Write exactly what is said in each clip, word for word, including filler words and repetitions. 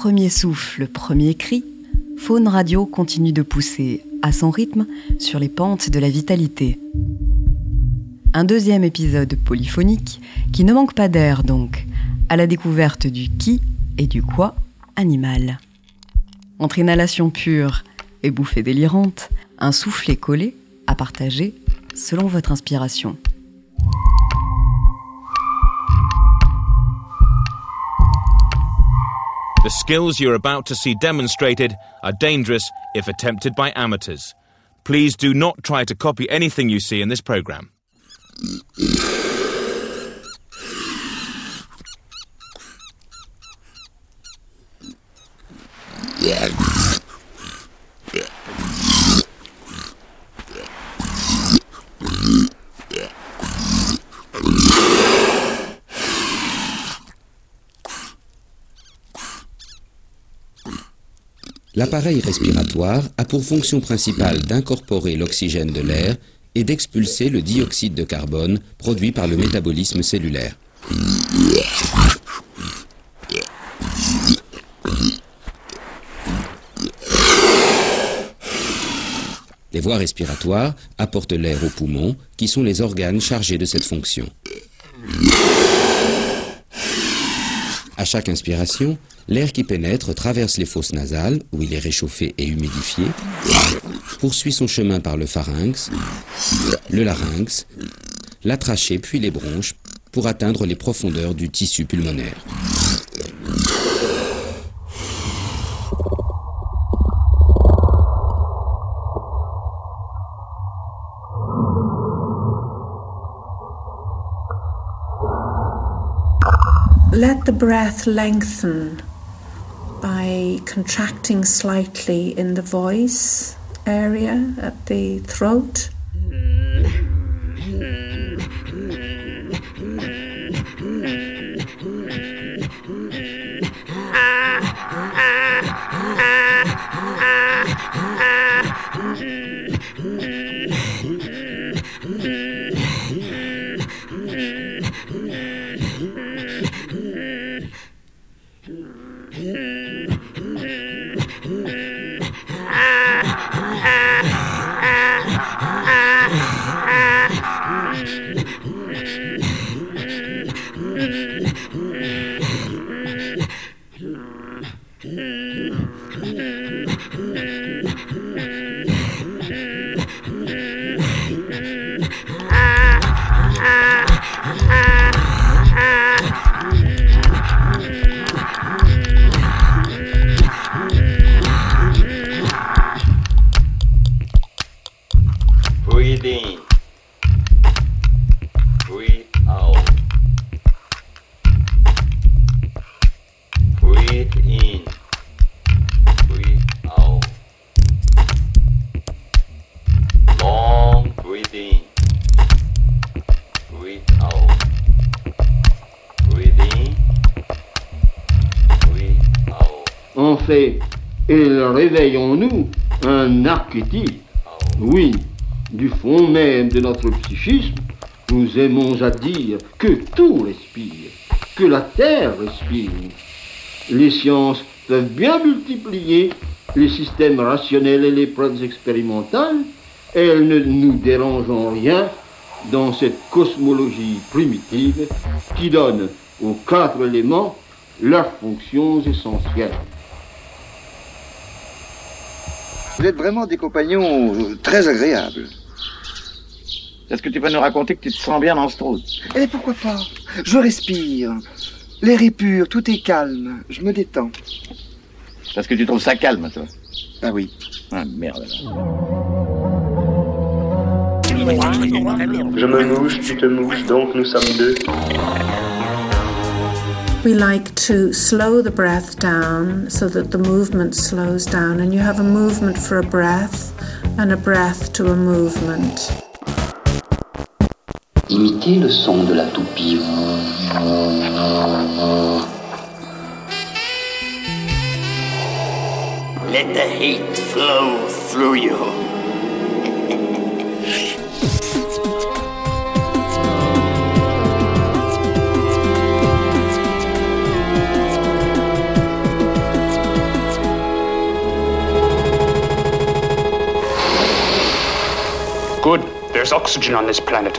premier souffle, premier cri, Faune Radio continue de pousser, à son rythme, sur les pentes de la vitalité. Un deuxième épisode polyphonique qui ne manque pas d'air donc, à la découverte du qui et du quoi animal. Entre inhalation pure et bouffée délirante, un soufflet collé à partager selon votre inspiration. The skills you're about to see demonstrated are dangerous if attempted by amateurs. Please do not try to copy anything you see in this program. L'appareil respiratoire a pour fonction principale d'incorporer l'oxygène de l'air et d'expulser le dioxyde de carbone produit par le métabolisme cellulaire. Les voies respiratoires apportent l'air aux poumons, qui sont les organes chargés de cette fonction. À chaque inspiration, l'air qui pénètre traverse les fosses nasales, où il est réchauffé et humidifié, poursuit son chemin par le pharynx, le larynx, la trachée puis les bronches, pour atteindre les profondeurs du tissu pulmonaire. Let the breath lengthen by contracting slightly in the voice area at the throat. En fait, et réveillons-nous un archétype. Oui, du fond même de notre psychisme, nous aimons à dire que tout respire, que la terre respire. Les sciences peuvent bien multiplier les systèmes rationnels et les preuves expérimentales, et elles ne nous dérangent en rien dans cette cosmologie primitive qui donne aux quatre éléments leurs fonctions essentielles. Vous êtes vraiment des compagnons très agréables. Est-ce que tu peux nous raconter que tu te sens bien dans ce trou? Eh, pourquoi pas? Je respire. L'air est pur, tout est calme. Je me détends. Parce que tu trouves ça calme, toi? Ah oui. Ah, merde alors. Je me mouche, tu te mouches, donc nous sommes deux. We like to slow the breath down so that the movement slows down, and you have a movement for a breath and a breath to a movement. Imitez le son de la toupie. Let the heat flow through you. There's oxygen on this planet.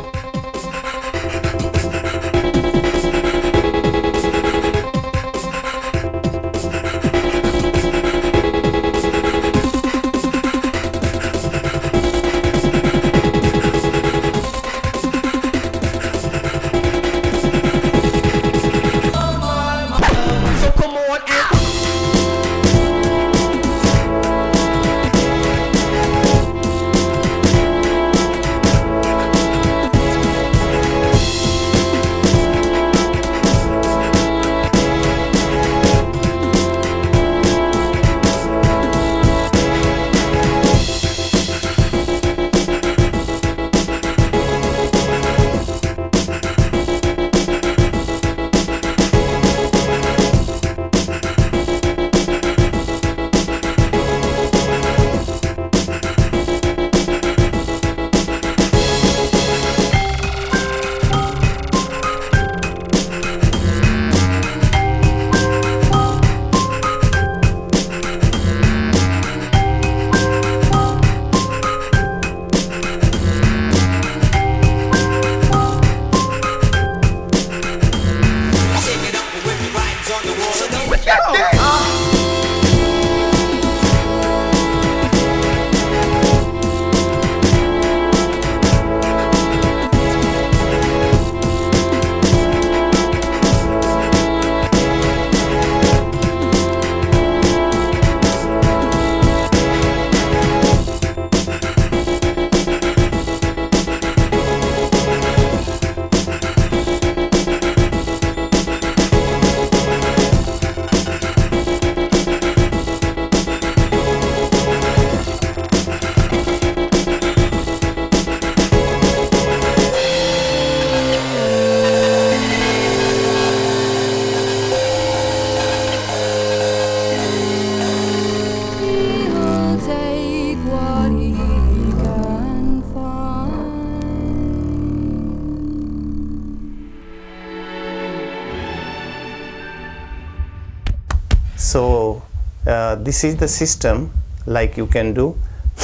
So uh, this is the system, like you can do.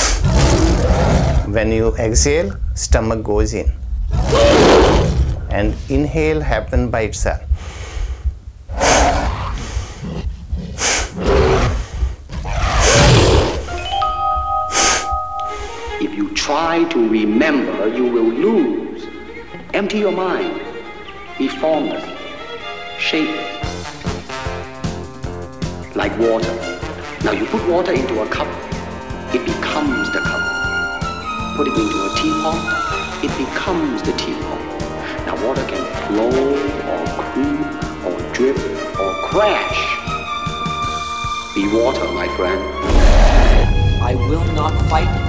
When you exhale, stomach goes in, and inhale happen by itself. If you try to remember, you will lose. Empty your mind. Be formless, shapeless, like water. Now you put water into a cup, it becomes the cup. Put it into a teapot, it becomes the teapot. Now water can flow or creep or drip or crash. Be water, my friend. I will not fight you.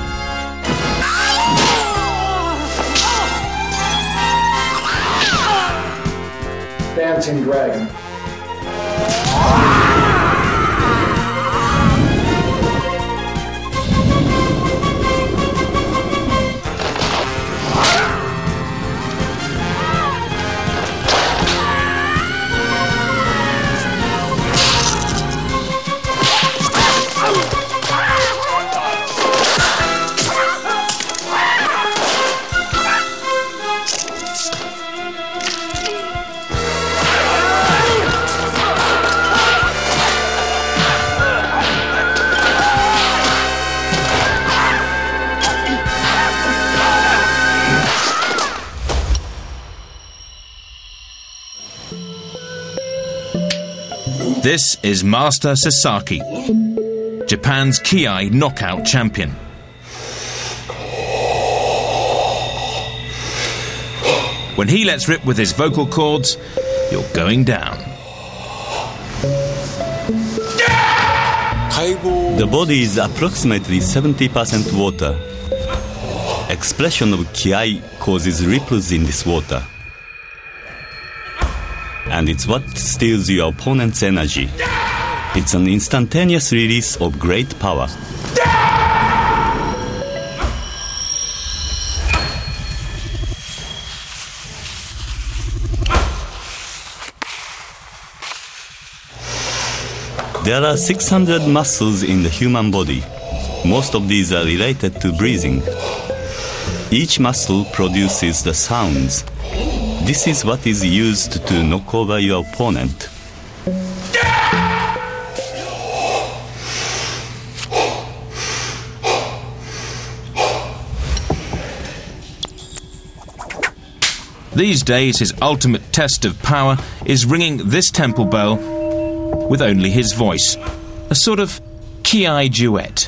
Dancing Dragon. This is Master Sasaki, Japan's Ki-Ai knockout champion. When he lets rip with his vocal cords, you're going down. The body is approximately seventy percent water. Expression of Ki-Ai causes ripples in this water. And it's what steals your opponent's energy. It's an instantaneous release of great power. There are six hundred muscles in the human body. Most of these are related to breathing. Each muscle produces the sounds. This is what is used to knock over your opponent. These days, his ultimate test of power is ringing this temple bell with only his voice. A sort of Ki duet.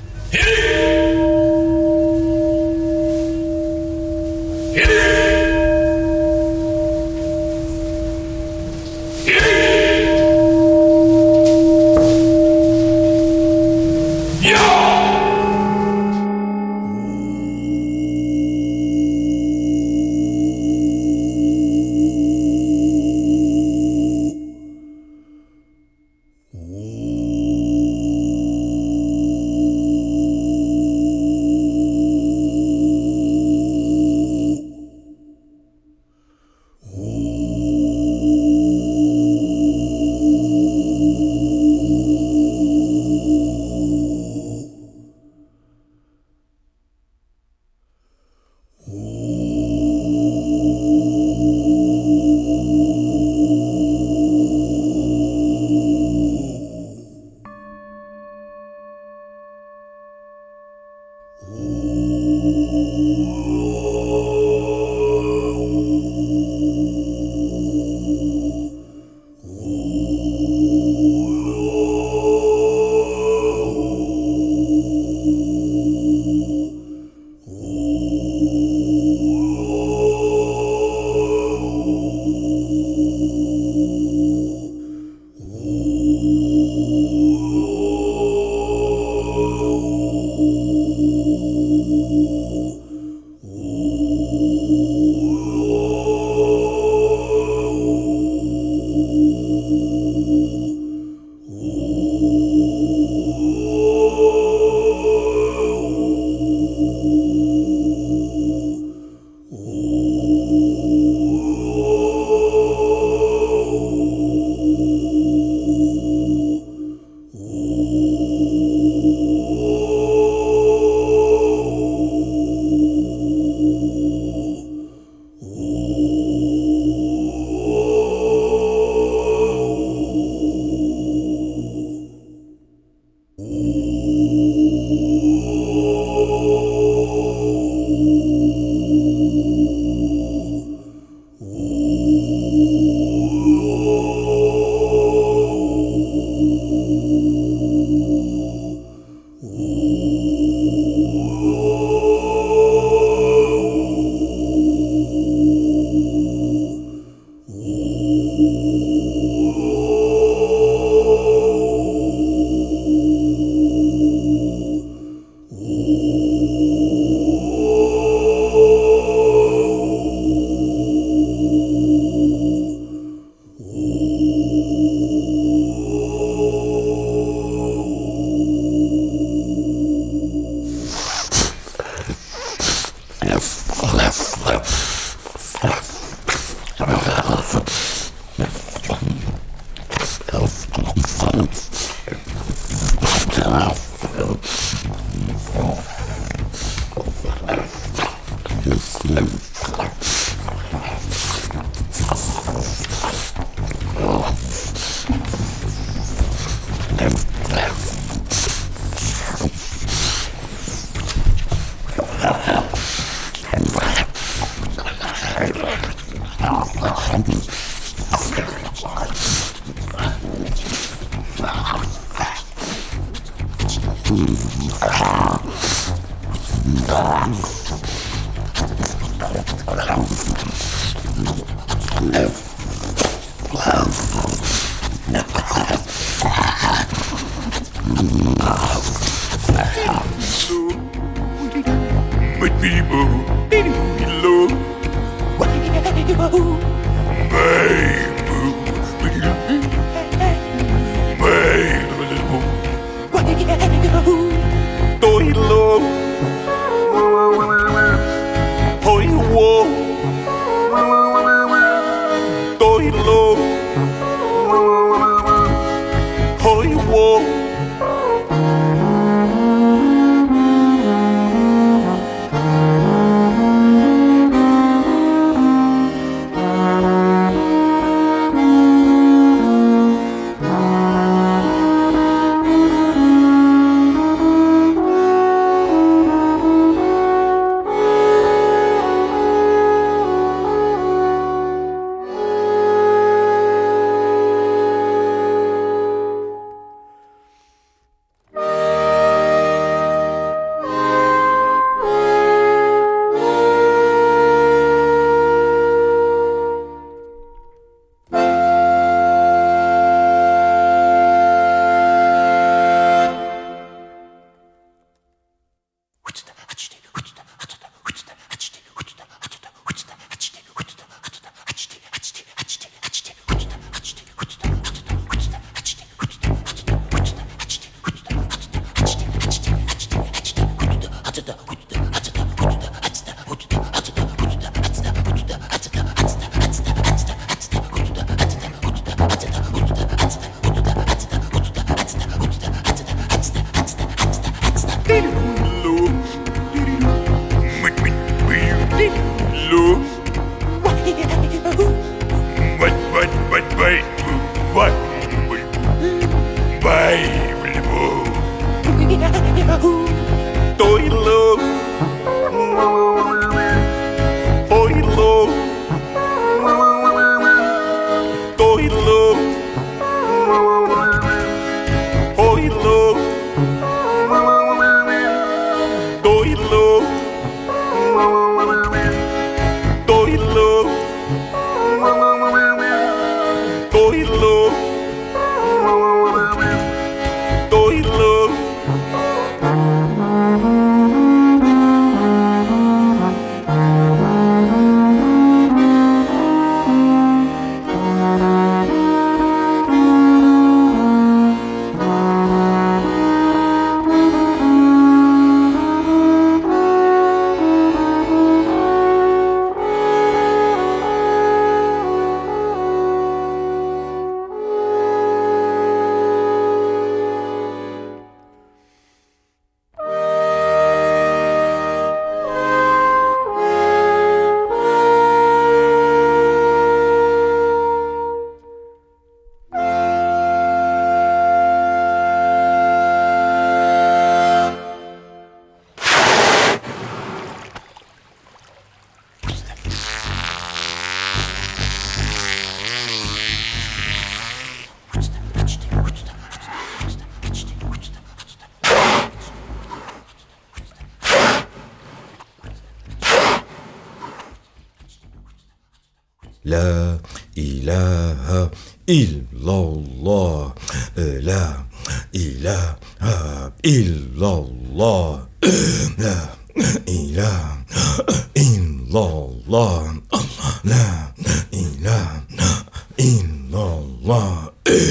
La ilaha illallah. La ilaha illallah. La ilaha illallah. La ilaha illallah.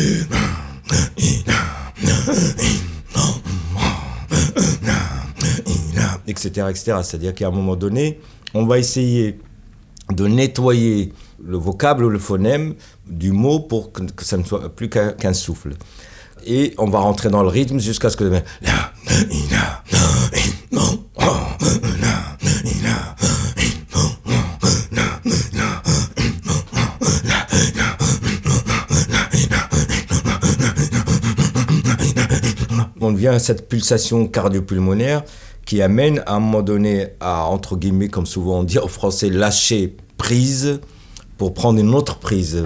Etc, et cetera. C'est-à-dire qu'à un moment donné, on va essayer de nettoyer le vocable ou le phonème du mot pour que, que ça ne soit plus qu'un, qu'un souffle. Et on va rentrer dans le rythme jusqu'à ce que... On devient à cette pulsation cardio-pulmonaire qui amène à un moment donné à, entre guillemets, comme souvent on dit en français, lâcher prise pour prendre une autre prise.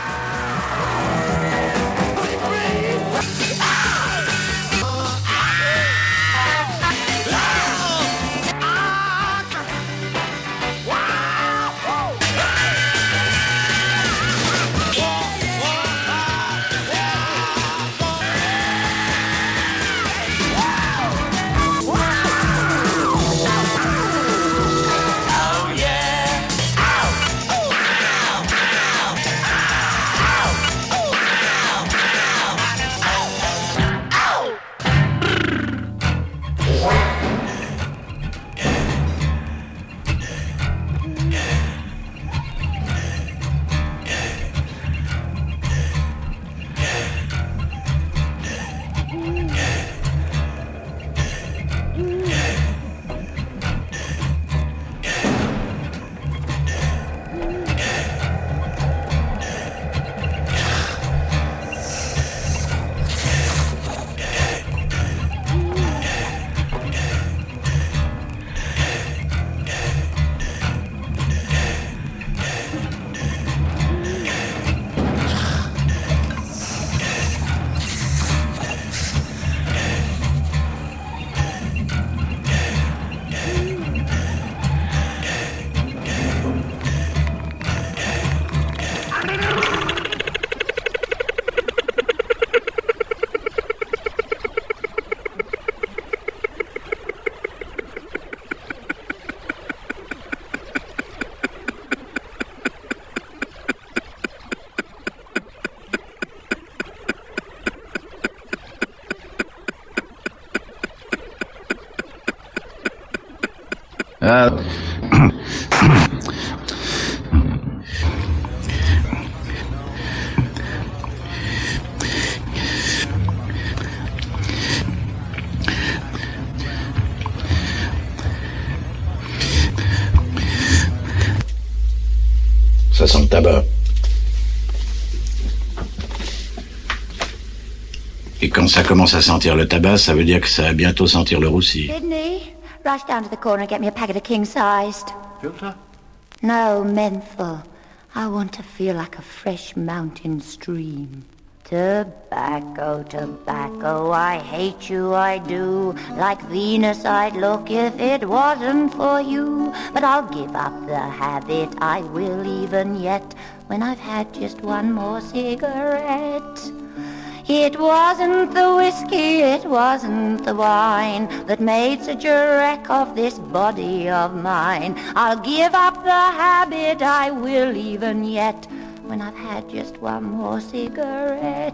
Ah. Ça sent le tabac. Et quand ça commence à sentir le tabac, ça veut dire que ça va bientôt sentir le roussi. Sydney, rush down to the corner and get me a packet of king-sized. Filter? No, menthol. I want to feel like a fresh mountain stream. Tobacco, tobacco, I hate you, I do. Like Venus I'd look if it wasn't for you. But I'll give up the habit, I will even yet, when I've had just one more cigarette. It wasn't the whiskey, it wasn't the wine that made such a wreck of this body of mine. I'll give up the habit, I will even yet, when I've had just one more cigarette.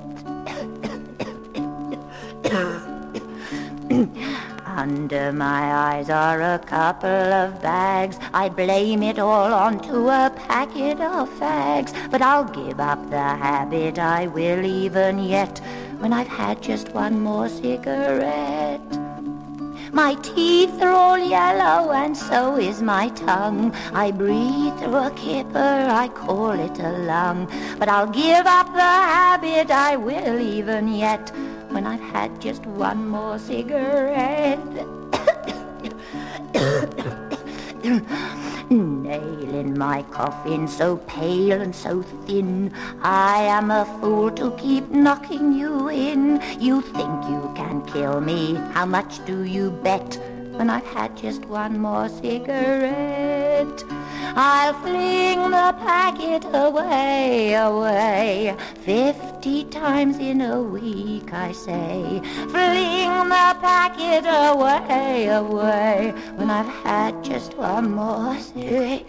Under my eyes are a couple of bags. I blame it all onto a packet of fags. But I'll give up the habit, I will even yet, when I've had just one more cigarette. My teeth are all yellow and so is my tongue. I breathe through a kipper, I call it a lung. But I'll give up the habit, I will even yet, when I've had just one more cigarette. Nail in my coffin, so pale and so thin, I am a fool to keep knocking you in. You think you can kill me, how much do you bet, when I've had just one more cigarette? it. I'll fling the packet away, away, fifty times in a week, I say. Fling the packet away, away, when I've had just one more cigarette.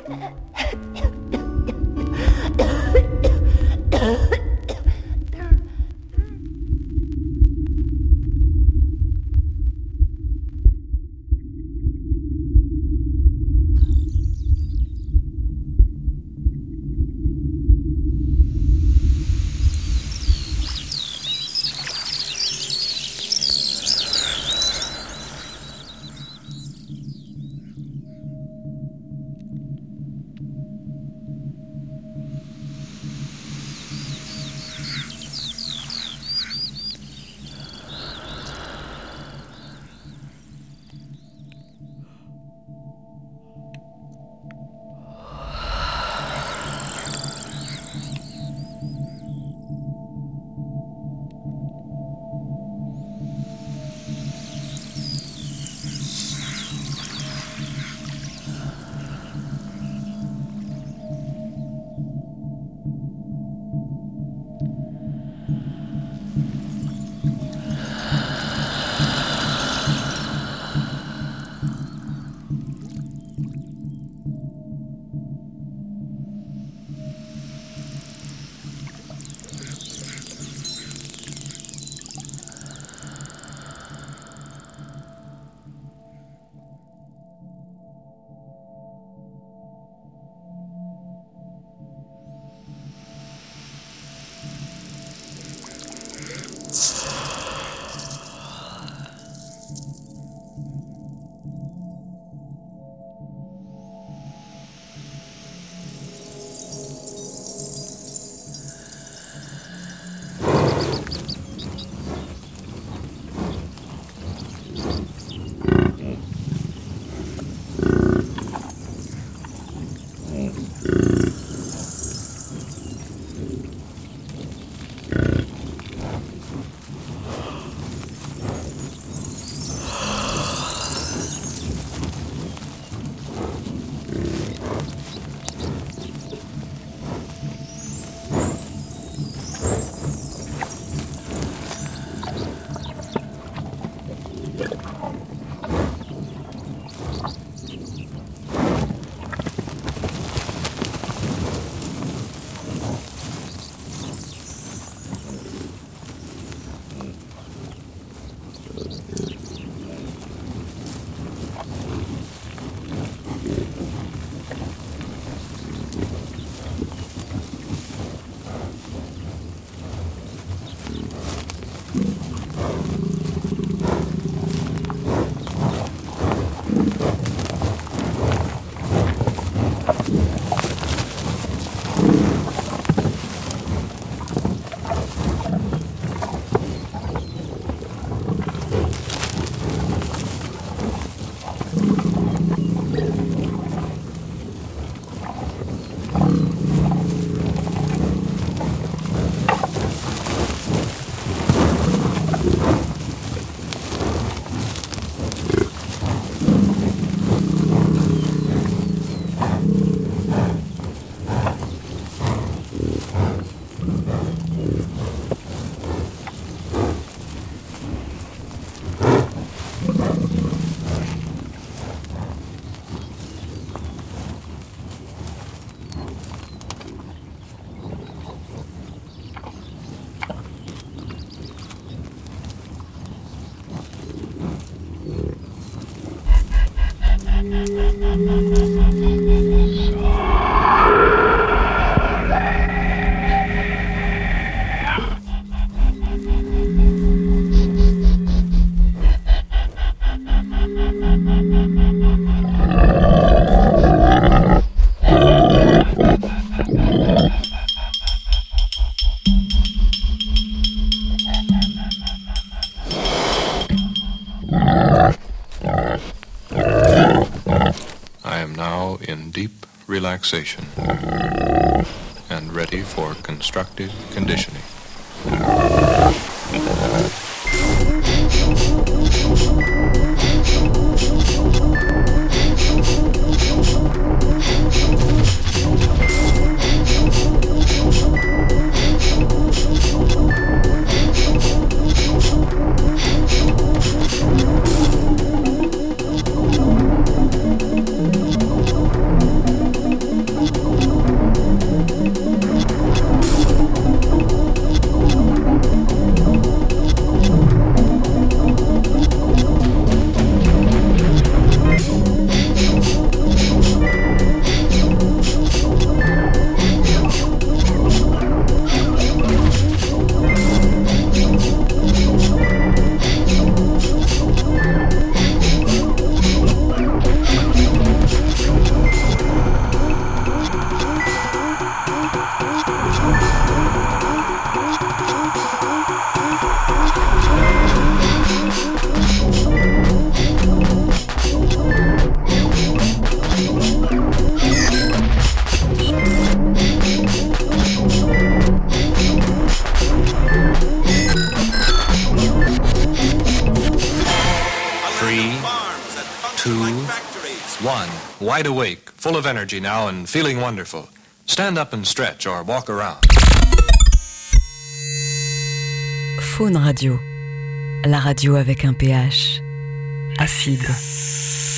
Relaxation and ready for constructive conditioning. wide awake, full of energy now and feeling wonderful. Stand up and stretch or walk around. Faune Radio, la radio avec un pH acide.